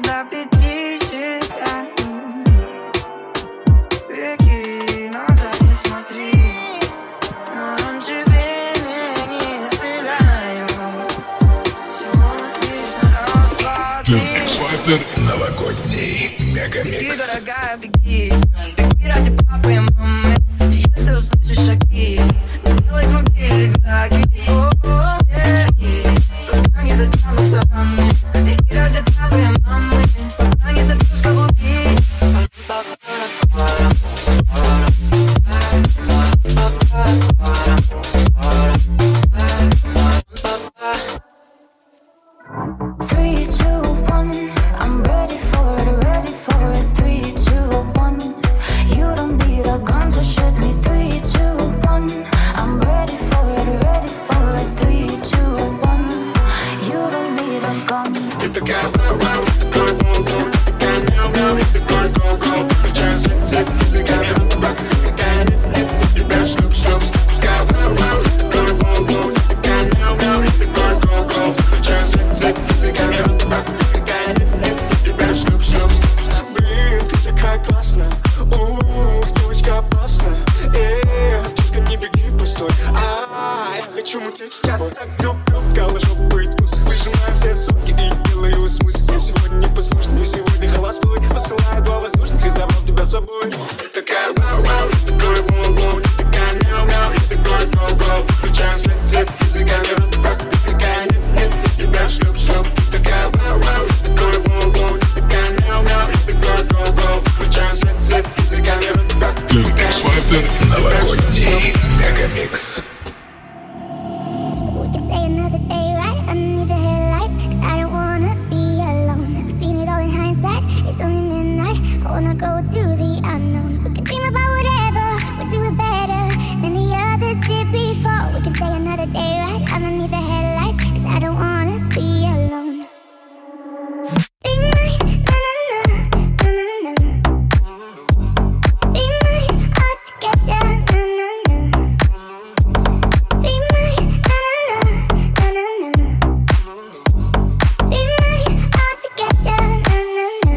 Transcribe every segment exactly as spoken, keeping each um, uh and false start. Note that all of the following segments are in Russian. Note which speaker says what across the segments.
Speaker 1: до пяти считаю. Веки назад не смотри, но раньше времени стреляю. Всего лишь на раз, два, три.
Speaker 2: X-Factor новогодний мегамикс.
Speaker 1: Беги, дорогая, беги, беги ради папы и мамы. Если услышишь шаги, сделай круги, зигзаги. О-о-о, беги, пока не затянутся раны. Беги ради папы и мамы, пока не затрешь каблуки.
Speaker 3: Three, two, one. I'm ready for it, ready for it. Three, two, one. You don't need a gun to shoot me. Three, two, one. I'm ready for it, ready for it. Three, two, one. You don't need a gun.
Speaker 4: Ты такая вау-вау, такой бум-бум, такая мяу-мяу, такой гоу-гоу. Включаю свет, языками рок, такая нет-нет, у тебя шлюп-шлюп. Такая вау-вау, такой бум-бум, такая мяу-мяу, такой гоу-гоу. Включаю свет, языками рок, такая нет-нет, у тебя шлюп-шлюп. Блин, ты такая классная, у-у-у, девочка опасная. Эй, только не беги, постой, а я хочу мутить с тобой. Так люблю, голожопый туз, выжимаем все соки и делаю смузи. Я сегодня непослушный, сегодня холостой. Посылаю два воздушных и забрал тебя с собой. Ты такая вау-вау, такой бум-бум, такая мяу-мяу, такой гоу-гоу. Включаем свет, свет, языками рок, такая нет-нет, у тебя шлюп-шлюп. Ты такая вау-вау, такой бум-бум, такая мяу-мяу, такой гоу-гоу. Включаем свет, свет, языками рок.
Speaker 2: X-Factor новогодний мегамикс.
Speaker 5: We can say another day right underneath the headlights, 'cause I don't wanna be alone. I've seen it all in hindsight. It's only midnight, I wanna go to the unknown. We can dream about whatever, we'll do it better than the others did before. We can say another day right underneath the headlights, 'cause I don't wanna be alone. Be mine, na na na, na na na. Be mine, hard to get ya, na na na. Be mine, na na na, na na na. Be mine, hard to get ya, na na na.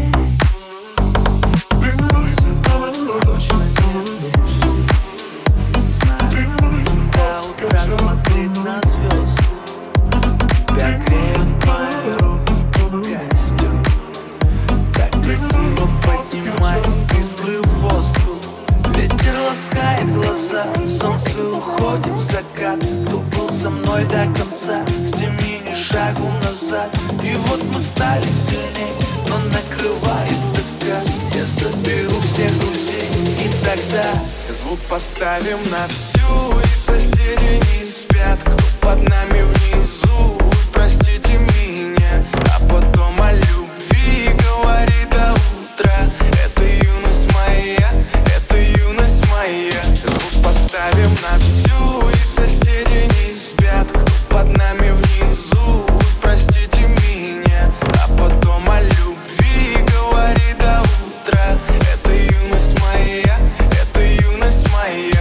Speaker 6: До утра смотреть на звезды. Тебя греют мои руки, костюм. Так красиво поднимает искры в воздух. Ветер ласкает глаза, солнце уходит в закат. Кто был со мной до конца, сними ни шагу назад. И вот мы стали сильней, но накрывает тоска. Я соберу всех друзей, и тогда звук поставим на всю. И соседи не спят, кто под нами внизу. Простите меня, а потом о любви говори до утра. Это юность моя, это юность моя. Звук поставим на всю. И соседи не спят, кто под нами внизу. Простите меня, а потом о любви говори до утра. Это юность моя, это юность моя.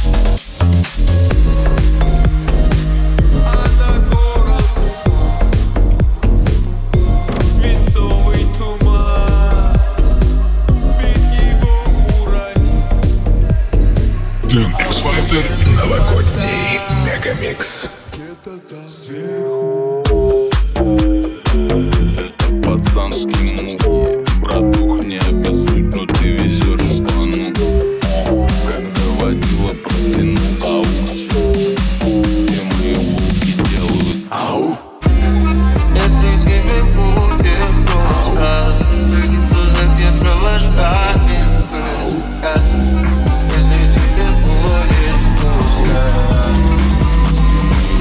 Speaker 6: Свинцовый туман, без его уровня.
Speaker 2: X-Factor новогодний мегамикс.
Speaker 7: Пацанский мув, братух, не обессудь, но ты везешь пану. Когда водила протянул аукс, все мои булки делают ау.
Speaker 6: Если тебе будет просто, выйди туда, где провожает музыка. Если тебе будет просто,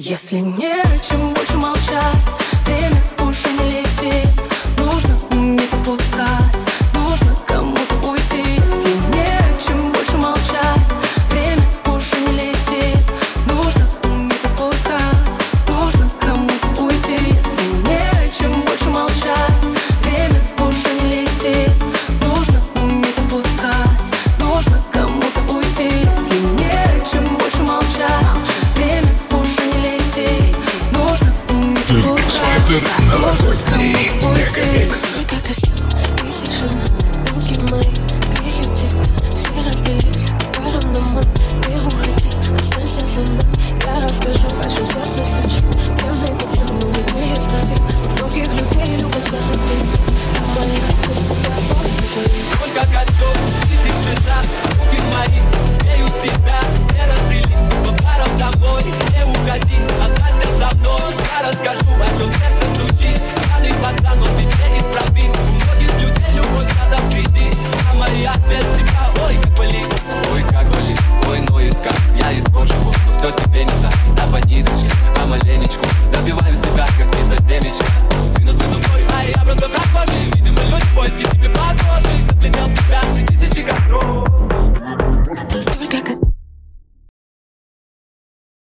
Speaker 8: Если не о чем больше молчать, время уже не летит. Нужно уметь отпускать, нужно кому-то уйти. Если не о чем больше молчать, время уже не летит. Нужно уметь отпускать, нужно кому-то уйти. Если не о чем больше молчать, время уже не летит. Нужно уметь отпускать, нужно кому-то уйти. Если не о чем больше молчать, время уже не летит. Нужно уметь отпускать.
Speaker 2: Супер новогодний мегамикс.
Speaker 8: Ты как костюм и тишина, руки мои греют тебя. Все разбились, пойдем домой. Не уходи, останься со мной. Я расскажу, о чем сердце стучит. Пьяный пацан, но не есть нафиг. Многих людей любят за тобой. А моя без тебя болит.
Speaker 6: Только костюм и тишина, руки мои греют тебя. Все разбились, но паром домой. Не уходи, останься со мной. Я расскажу, о чем сердце стучит. Пьяный пацан, но тебе неисправим. У многих людей любовь надо впереди. А моя без тебя, ой, как болит. Ой, как болит, ой, ноет как. Я из кожи, но все тебе не